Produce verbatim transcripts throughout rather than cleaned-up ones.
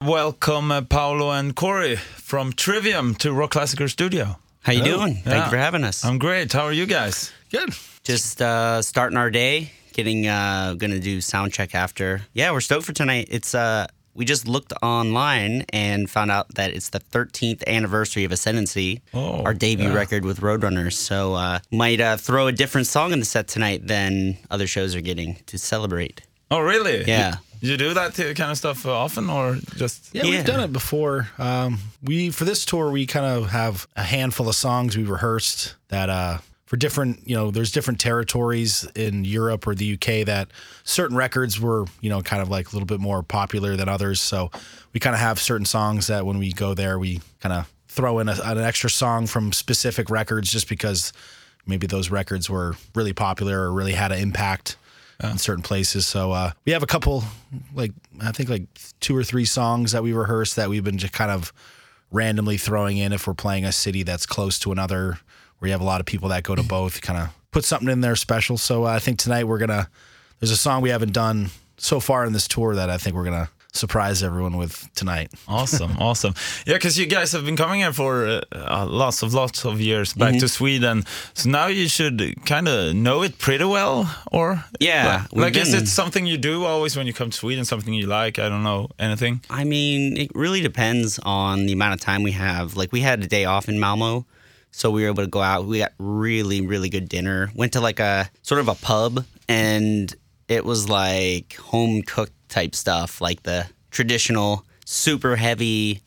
welcome uh, Paolo and Corey from Trivium to Rock Classicer Studio. How you Hello. doing? Yeah. Thank you for having us. I'm great. How are you guys? Good. Just uh, starting our day, getting uh, gonna do sound check after. Yeah, we're stoked for tonight. It's uh, we just looked online and found out that it's the thirteenth anniversary of Ascendancy, Oh, our debut yeah. record with Roadrunners. So uh, might uh, throw a different song in the set tonight than other shows are getting to celebrate. Oh, really? Yeah. You, you do that kind of stuff uh, often, or just? Yeah, Yeah. we've done it before. Um, we for this tour, we kind of have a handful of songs we rehearsed that uh, for different, you know, there's different territories in Europe or the U K that certain records were, you know, kind of like a little bit more popular than others. So we kind of have certain songs that when we go there, we kind of throw in a, an extra song from specific records just because maybe those records were really popular or really had an impact in certain places. So uh, we have a couple, like I think like two or three songs that we rehearse that we've been just kind of randomly throwing in if we're playing a city that's close to another, where you have a lot of people that go to both, kind of put something in there special. So uh, I think tonight we're going to, there's a song we haven't done so far in this tour that I think we're going to surprise everyone with tonight. Awesome, awesome. Yeah, because you guys have been coming here for uh, uh, lots of lots of years back Mm-hmm. to Sweden, so now you should kind of know it pretty well, or Yeah, like, we've like is been- it something you do always when you come to Sweden? Something you like? I don't know, anything. I mean, it really depends on the amount of time we have. Like, we had a day off in Malmo, so we were able to go out. We got really, really good dinner. Went to like a sort of a pub, and it was like home cooked type stuff, like the traditional, super heavy.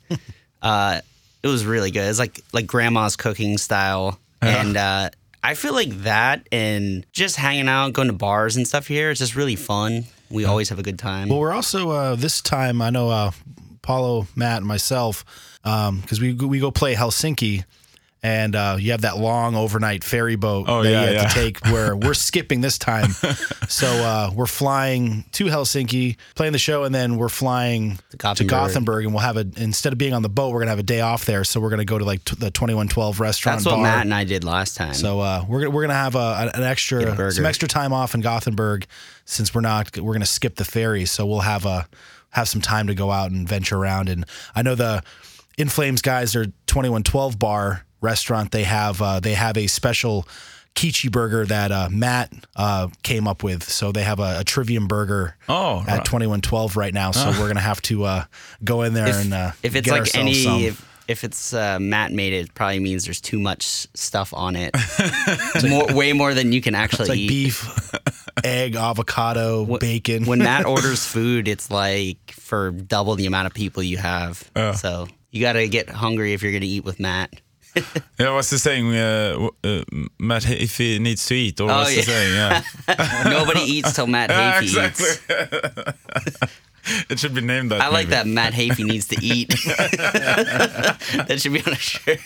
uh, it was really good. It's like like grandma's cooking style, Yeah. and uh, I feel like that and just hanging out, going to bars and stuff here is just really fun. We always have a good time. Well, we're also, uh, this time, I know uh, Paulo, Matt, and myself, because we, we go play Helsinki, and uh, you have that long overnight ferry boat Oh, that yeah, you have yeah. to take where we're skipping this time. So uh, we're flying to Helsinki, playing the show, and then we're flying to Gothenburg. Gothenburg, and we'll have a, instead of being on the boat, we're going to have a day off there. So we're going to go to like t- the twenty-one twelve restaurant That's what bar. Matt and I did last time. So uh, we're gonna- we're gonna have a, an Get a extra burger. some extra time off in Gothenburg since we're not we're gonna skip the ferry. So we'll have a have some time to go out and venture around. And I know the In Flames guys, their twenty-one twelve bar restaurant, they have uh, they have a special Kichi burger that uh, Matt uh, came up with. So they have a, a Trivium burger Oh, at right. twenty-one twelve right now. So we're gonna have to uh, go in there if, and uh, if it's get like ourselves any some. if, if it's uh, Matt made it, it probably means there's too much stuff on it. more, way more than you can actually It's like eat. beef, egg, avocado, Wh- bacon. When Matt orders food, it's like for double the amount of people you have. Oh. So you got to get hungry if you're going to eat with Matt. Yeah, what's the saying? Uh, w- uh, Matt, if he needs to eat, or Oh, what's the yeah. saying? Yeah, Nobody eats till Matt yeah Hafey exactly. eats. It should be named that. I like maybe. that Matt Hafey needs to eat. That should be on a shirt.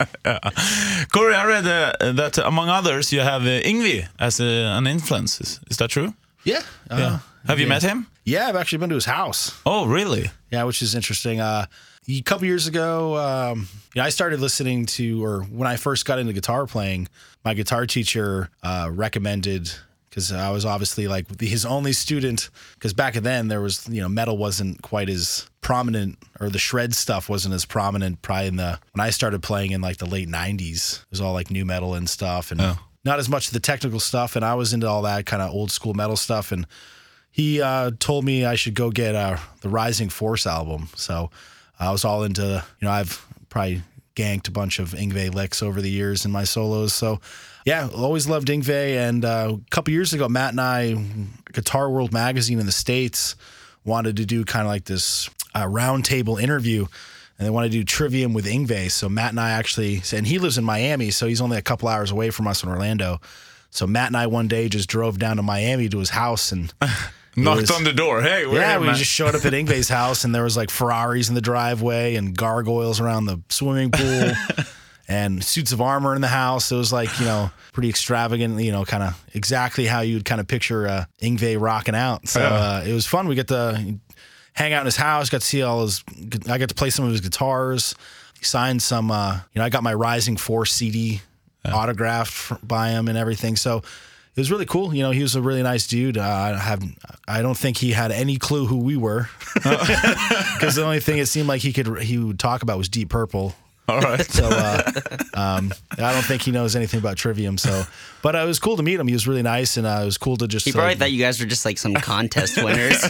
Corey, I read uh, that among others, you have uh, Yngwie as a, an influence. Is, is that true? Yeah. Uh, Yeah. Have you yeah. met him? Yeah, I've actually been to his house. Oh, really? Yeah, which is interesting. Uh, a couple years ago, um, you know, I started listening to, or when I first got into guitar playing, my guitar teacher uh, recommended, because I was obviously like his only student, because back then there was, you know, metal wasn't quite as prominent, or the shred stuff wasn't as prominent probably in the, when I started playing in like the late nineties, it was all like new metal and stuff, and Oh. not as much of the technical stuff, and I was into all that kind of old school metal stuff, and he uh, told me I should go get uh, the Rising Force album. So I was all into, you know, I've probably ganked a bunch of Yngwie licks over the years in my solos. So yeah, always loved Yngwie. And uh, a couple years ago, Matt and I, Guitar World magazine in the States, wanted to do kind of like this uh, roundtable interview. And they wanted to do Trivium with Yngwie. So Matt and I actually, and he lives in Miami, so he's only a couple hours away from us in Orlando. So Matt and I one day just drove down to Miami to his house and Knocked was- on the door. Hey, we're yeah, here, we man. just showed up at Yngwie's house, and there was like Ferraris in the driveway and gargoyles around the swimming pool and suits of armor in the house. It was like, you know, pretty extravagant, you know, kind of exactly how you'd kind of picture uh, Yngwie rocking out. So Yeah. uh, it was fun. We got to hang out in his house, got to see all his, I got to play some of his guitars. He signed some, uh, you know, I got my Rising Force C D autographed by him and everything. So it was really cool. You know, he was a really nice dude. Uh, I have, I don't think he had any clue who we were, because the only thing it seemed like he could he would talk about was Deep Purple. All right. So uh, um, I don't think he knows anything about Trivium. So, but uh, it was cool to meet him. He was really nice, and uh, it was cool to just. He probably uh, thought you guys were just like some contest winners.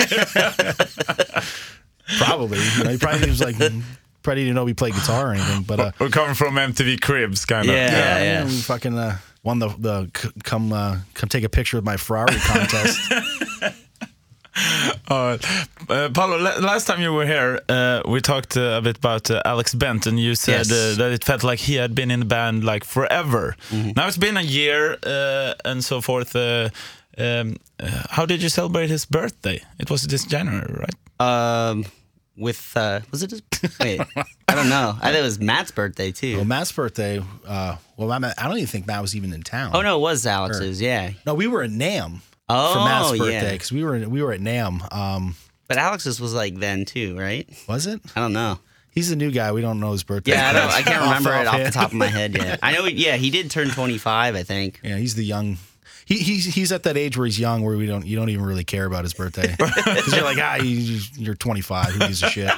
Probably, you know, he probably was like, probably didn't know we played guitar or anything. But uh, We're coming from M T V Cribs, kind of. Yeah. yeah, yeah, we fucking uh, won the the c- come uh, come take a picture with my Ferrari contest. Uh, uh, Paolo, la- last time you were here, uh, we talked uh, a bit about uh, Alex Bent, and you said Yes. uh, that it felt like he had been in the band like forever. Mm-hmm. Now it's been a year uh, and so forth. Uh, um, uh, how did you celebrate his birthday? It was this January, right? um, with uh, was it his? Wait, I don't know. I think it was Matt's birthday too. Well, Matt's birthday. Uh, well, I don't even think Matt was even in town. Oh no, it was Alex's. Yeah. no, we were at NAMM Oh for Matt's birthday yeah. because we were we were at NAMM. Um, But Alex's was like then too, right? was it? I don't know. He's a new guy. We don't know his birthday. Yeah, I don't. I can't Off- remember it off the offhand. top of my head yet. I know. Yeah, he did turn twenty-five. I think. Yeah, he's the young. He, he's he's at that age where he's young, where we don't you don't even really care about his birthday because you're like ah you, you're twenty-five, who gives a shit?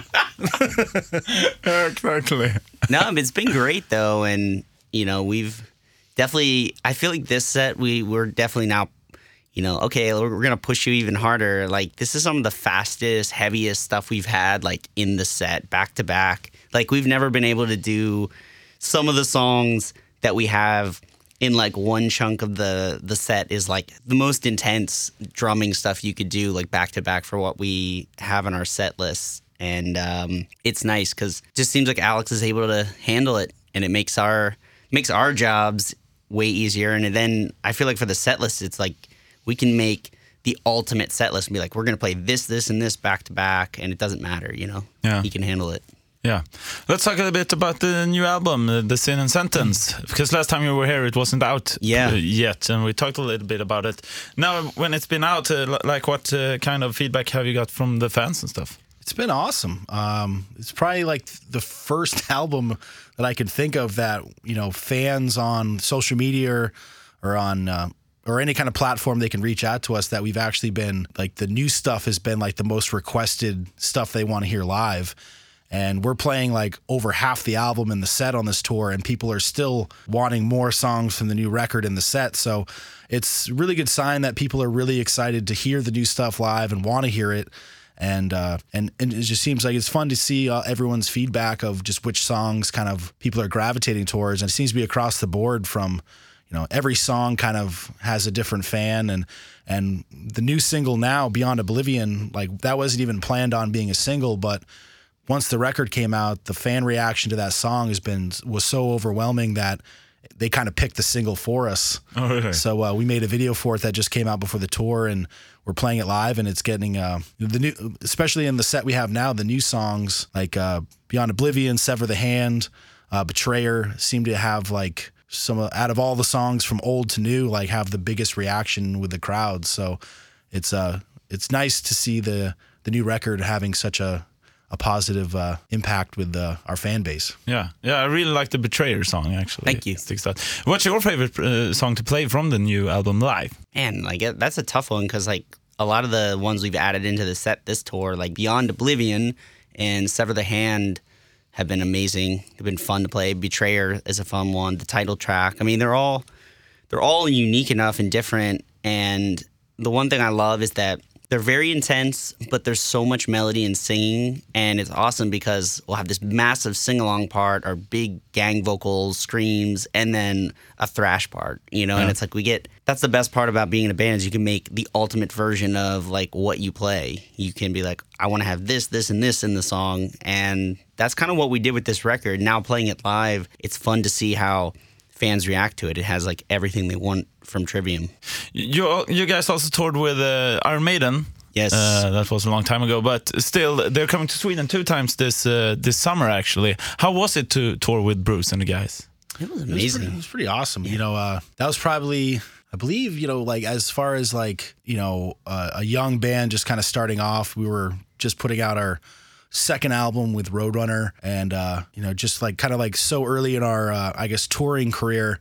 Exactly. No, but it's been great though, and you know we've definitely. I feel like this set we we're definitely now. You know, okay, we're, we're gonna push you even harder. Like this is some of the fastest, heaviest stuff we've had, like in the set, back to back. Like we've never been able to do some of the songs that we have in like one chunk of the the set is like the most intense drumming stuff you could do, like back to back for what we have on our set list. And um, it's nice because it just seems like Alex is able to handle it, and it makes our makes our jobs way easier. And then I feel like for the set list, it's like we can make the ultimate set list and be like, we're going to play this, this, and this back to back, and it doesn't matter, you know? Yeah. He can handle it. Yeah. Let's talk a little bit about the new album, uh, The Sin and Sentence, because last time you were here, it wasn't out Yeah. uh, yet, and we talked a little bit about it. Now, when it's been out, uh, li- like what uh, kind of feedback have you got from the fans and stuff? It's been awesome. Um, it's probably like the first album that I could think of that you know fans on social media or, or on. Uh, or any kind of platform they can reach out to us that we've actually been like the new stuff has been like the most requested stuff they want to hear live. And we're playing like over half the album in the set on this tour, and people are still wanting more songs from the new record in the set. So it's a really good sign that people are really excited to hear the new stuff live and want to hear it. And uh, and and it just seems like it's fun to see uh, everyone's feedback of just which songs kind of people are gravitating towards. And it seems to be across the board from, you know, every song kind of has a different fan, and and the new single now, Beyond Oblivion, like that wasn't even planned on being a single, but once the record came out, the fan reaction to that song has been was so overwhelming that they kind of picked the single for us. Oh, really? So uh, we made a video for it that just came out before the tour, and we're playing it live, and it's getting uh, the new, especially in the set we have now, the new songs like uh, Beyond Oblivion, Sever the Hand, uh, Betrayer seem to have like. Some out of all the songs from old to new, like have the biggest reaction with the crowd. So it's uh it's nice to see the the new record having such a a positive uh, impact with uh, our fan base. Yeah, yeah, I really like the Betrayer song, actually. Thank you. It sticks out. What's your favorite uh, song to play from the new album live? Man, like it- that's a tough one because like a lot of the ones we've added into the set this tour, like Beyond Oblivion and Sever the Hand, have been amazing. They've been fun to play. Betrayer is a fun one. The title track. I mean, they're all they're all unique enough and different. And the one thing I love is that they're very intense, but there's so much melody and singing, and it's awesome because we'll have this massive sing-along part, or big gang vocals, screams, and then a thrash part, you know? Yeah. And it's like we get, that's the best part about being in a band is you can make the ultimate version of like what you play. You can be like, I want to have this, this, and this in the song, and that's kind of what we did with this record. Now playing it live, it's fun to see how fans react to it. It has like everything they want from Trivium. You you guys also toured with uh, Iron Maiden. Yes. Uh, that was a long time ago, but still, they're coming to Sweden two times this uh, this summer. Actually, how was it to tour with Bruce and the guys? It was It was amazing. pretty, it was pretty awesome. You know, uh, that was probably, I believe, you know, like as far as like, you know, uh, a young band just kind of starting off, we were just putting out our second album with Roadrunner, and, uh, you know, just like kind of like so early in our, uh, I guess, touring career.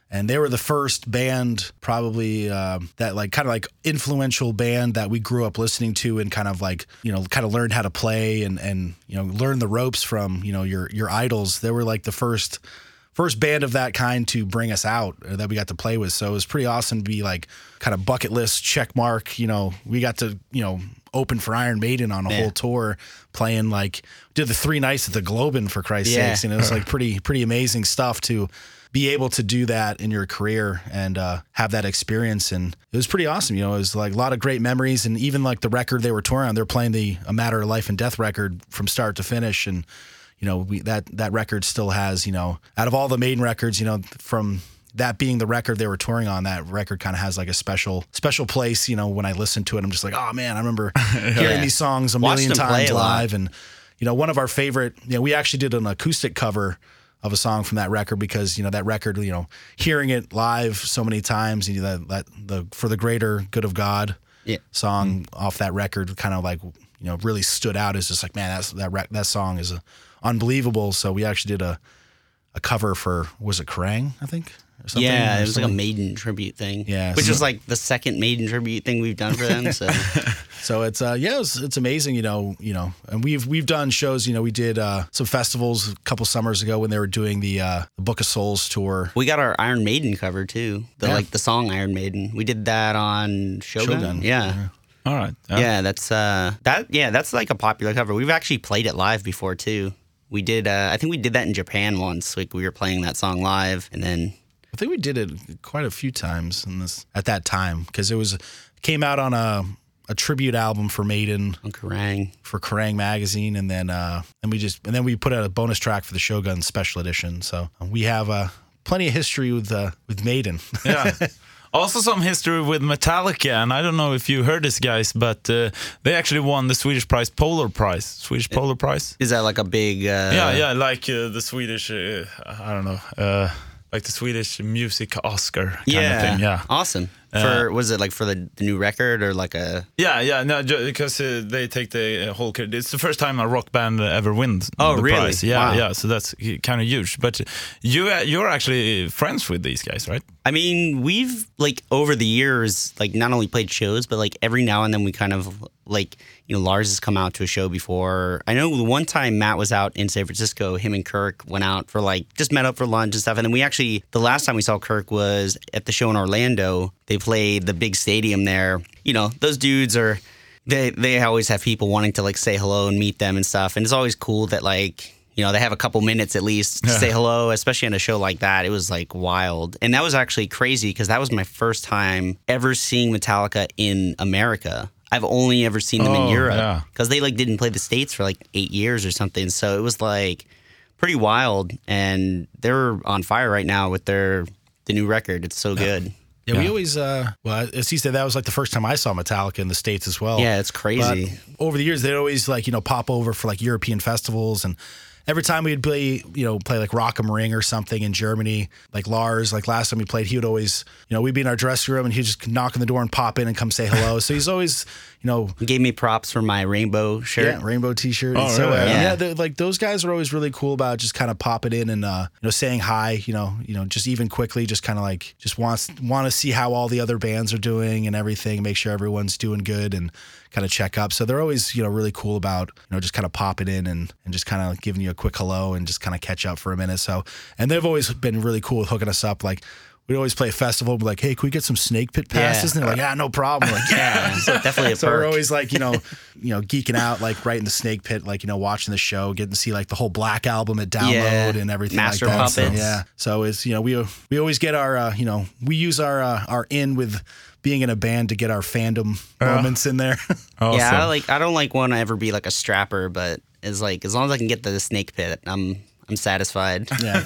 And they were the first band, probably uh, that like kind of like influential band that we grew up listening to and kind of like, you know, kind of learned how to play and, and, you know, learn the ropes from, you know, your, your idols. They were like the first, first band of that kind to bring us out uh, that we got to play with. So it was pretty awesome to be like kind of bucket list check mark. You know, we got to, you know, open for Iron Maiden on a yeah. whole tour, playing like, did the three nights at the Globin for Christ's yeah. sakes. And it was like pretty, pretty amazing stuff to be able to do that in your career and uh, have that experience. And it was pretty awesome. You know, it was like a lot of great memories. And even like the record they were touring on, they're playing the A Matter of Life and Death record from start to finish. And, you know, we, that, that record still has, you know, out of all the Maiden records, you know, from that being the record they were touring on, that record kind of has like a special, special place. You know, when I listen to it, I'm just like, oh man, I remember hearing yeah. these songs a Watched million them play times a lot. live. And, you know, one of our favorite, you know, we actually did an acoustic cover of a song from that record because, you know, that record, you know, hearing it live so many times, you know, that, that the For the Greater Good of God Yeah. song Mm. off that record kind of like, you know, really stood out as just like, man, that's that rec- that song is uh, unbelievable. So we actually did a a cover for, was it Kerrang, I think? Or something? Yeah, Or it was like a something? Maiden tribute thing. Yeah, Which so- is like the second Maiden tribute thing we've done for them. So So it's uh yeah it's, it's amazing, you know you know and we've we've done shows, you know we did uh some festivals a couple summers ago when they were doing the uh the Book of Souls tour. we got our Iron Maiden cover too. The Yeah. like the song Iron Maiden. We did that on Shogun. Shogun, Yeah. yeah. All right. Yeah, that's uh that yeah, that's like a popular cover. We've actually played it live before too. We did uh I think we did that in Japan once. Like we were playing that song live and then I think we did it quite a few times in this at that time because it was came out on a a tribute album for Maiden on Kerrang. for Kerrang magazine, and then uh and we just and then we put out a bonus track for the Shogun special edition. So we have uh plenty of history with uh with Maiden. Yeah. Also some history with Metallica, and I don't know if you heard this, guys, but uh, they actually won the Swedish prize, Polar Prize, Swedish Polar Prize. Is that like a big uh Yeah, yeah, like uh, the Swedish, uh, I don't know, uh, like the Swedish music Oscar kind yeah. of thing. Yeah, Awesome. For was it like for the, the new record or like a yeah, yeah. No, ju- because uh, they take the uh, whole. credit. It's the first time a rock band ever wins. Oh, the really? prize. Yeah, Wow. yeah. So that's kind of huge. But you, uh, you're actually friends with these guys, right? I mean, we've like over the years, like not only played shows, but like every now and then we kind of like, you know, Lars has come out to a show before. I know the one time Matt was out in San Francisco, him and Kirk went out for like, just met up for lunch and stuff. And then we actually, the last time we saw Kirk was at the show in Orlando. They played the big stadium there. You know, those dudes are, they, they always have people wanting to like say hello and meet them and stuff. And it's always cool that like, you know, they have a couple minutes at least to Yeah. say hello, especially on a show like that. It was like wild. And that was actually crazy because that was my first time ever seeing Metallica in America. I've only ever seen them Oh, in Europe yeah. because they like didn't play the States for like eight years or something. So it was like pretty wild. And they're on fire right now with their the new record. It's so good. Yeah, we Yeah. always, uh, well, as he said, that was like the first time I saw Metallica in the States as well. Yeah, it's crazy. But over the years, they'd always like, you know, pop over for like European festivals. And every time we'd play, you know, play like Rock am Ring or something in Germany, like Lars, like last time we played, he would always, you know, we'd be in our dressing room and he'd just knock on the door and pop in and come say hello. So he's always, you know, He gave me props for my rainbow shirt. yeah, rainbow T-shirt. Oh, And so, really? uh, Yeah. yeah, they're- like those guys are always really cool about just kind of popping in and uh, you know saying hi. You know, you know, just even quickly, just kind of like just wants want to see how all the other bands are doing and everything, make sure everyone's doing good and kind of check up. So they're always you know really cool about you know just kind of popping in and and just kind of giving you a quick hello and just kind of catch up for a minute. So and they've always been really cool with hooking us up. Like we'd always play a festival, be like, hey, can we get some Snake Pit passes? Yeah. And they're like, yeah, no problem. We're like, yeah. So definitely a So we're perk. always like, you know, you know, geeking out, like right in the Snake Pit, like, you know, watching the show, getting to see like the whole Black Album at download Yeah. and everything Master like that. So, Puppets. yeah. So it's, you know, we we always get our, uh, you know, we use our uh, our in with being in a band to get our fandom moments in there. Awesome. Yeah, I like I don't like want to ever be like a strapper, but it's like as long as I can get to the Snake Pit, I'm I'm satisfied. yeah.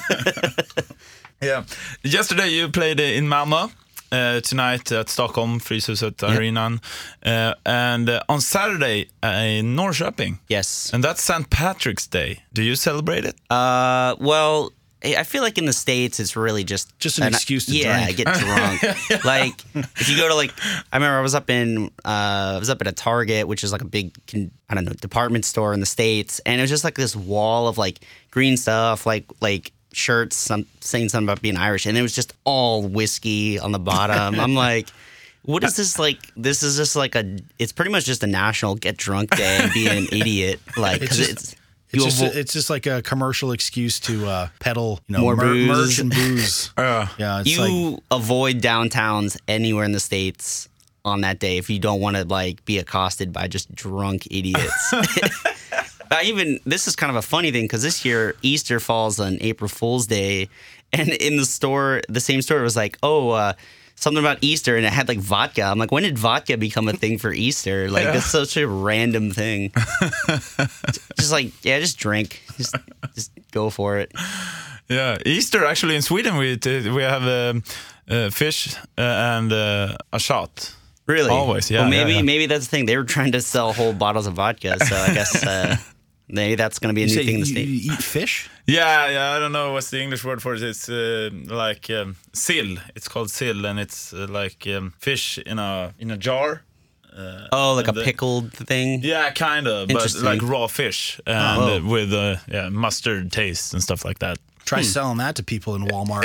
Yeah. Yesterday you played uh, in Malmö. Uh, tonight at Stockholm, Fryshuset Arenan. Uh, and uh, on Saturday uh, in Norrköping. Yes. And that's Saint Patrick's Day. Do you celebrate it? Uh, well, I I feel like in the States it's really just Just an excuse to yeah, drink. get drunk. Like if you go to like, I remember I was up in uh, I was up at a Target, which is like a big con- I don't know department store in the States, and it was just like this wall of like green stuff, like like shirts some, saying something about being Irish, and it was just all whiskey on the bottom. I'm like, what is this like? This is just like a. It's pretty much just a national get drunk day and be an idiot. Like, It's because just- it's. It's you just, avo- it's just like a commercial excuse to uh, peddle, you know, More mer- booze. merch and booze. Yeah. Yeah, it's you like avoid downtowns anywhere in the States on that day if you don't want to like be accosted by just drunk idiots. I even this is kind of a funny thing because this year Easter falls on April Fool's Day, and in the store, the same store, it was like, oh, uh, something about Easter, and it had like vodka. I'm like, when did vodka become a thing for Easter? Like, Yeah. that's such a random thing. Just like, yeah, just drink, just just go for it. Yeah, Easter actually in Sweden we t- we have um, uh, fish uh, and uh, a shot. Really? Always, yeah, Well, maybe yeah, yeah. maybe that's the thing. They were trying to sell whole bottles of vodka, so I guess uh, maybe that's going to be a you, new say thing in you, the States. you eat fish. Yeah, yeah. I don't know what's the English word for it. It's uh, like um, sill. It's called sill, and it's uh, like um, fish in a in a jar. Uh, Oh, like a and the- pickled thing. Yeah, kind of, but Interesting. like raw fish and Oh. uh, with uh, yeah mustard taste and stuff like that. Try selling that to people in Walmart.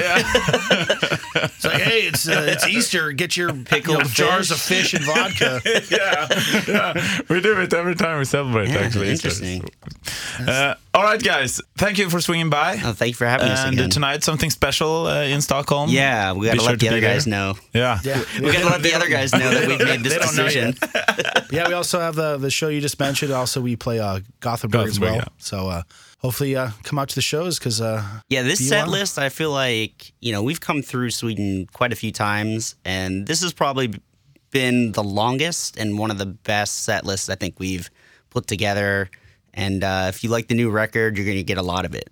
It's like, hey, it's uh, it's Easter. Get your Pickled you know, jars fish. of fish and vodka. yeah, yeah, we do it every time we celebrate. Yeah, actually, Easter. interesting. Uh, all right, guys. Thank you for swinging by. Oh, thank you for having us And again. tonight, something special uh, in Stockholm. Yeah, we got Be to sure let to the be other guys there. know. Yeah. Yeah, We got to let the other guys know that we've made this They don't know decision. Yeah, we also have the the show you just mentioned. Also, we play uh, Gothenburg as Gothenburg, well. yeah. So uh, hopefully, uh, come out to the shows because uh, Yeah, this be set well. list, I feel like, you know, we've come through Sweden quite a few times, and this has probably been the longest and one of the best set lists I think we've put together. And uh, if you like the new record, you're going to get a lot of it.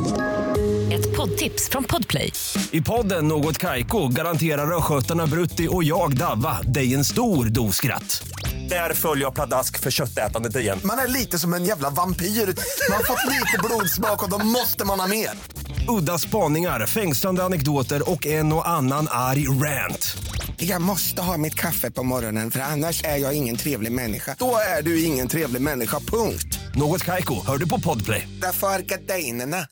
Ett poddtips från Podplay. I podden Något Kaiko garanterar östgötarna Brutti och jag Davva dig en stor dos skratt. Där följer jag pladask för köttätandet igen. Man är lite som en jävla vampyr. Man har fått lite blodsmak och då måste man ha mer. Udda spaningar, fängslande anekdoter och en och annan arg rant. Jag måste ha mitt kaffe på morgonen för annars är jag ingen trevlig människa. Då är du ingen trevlig människa, punkt. Något Kaiko, hör du på Podplay. Därför är gardinerna.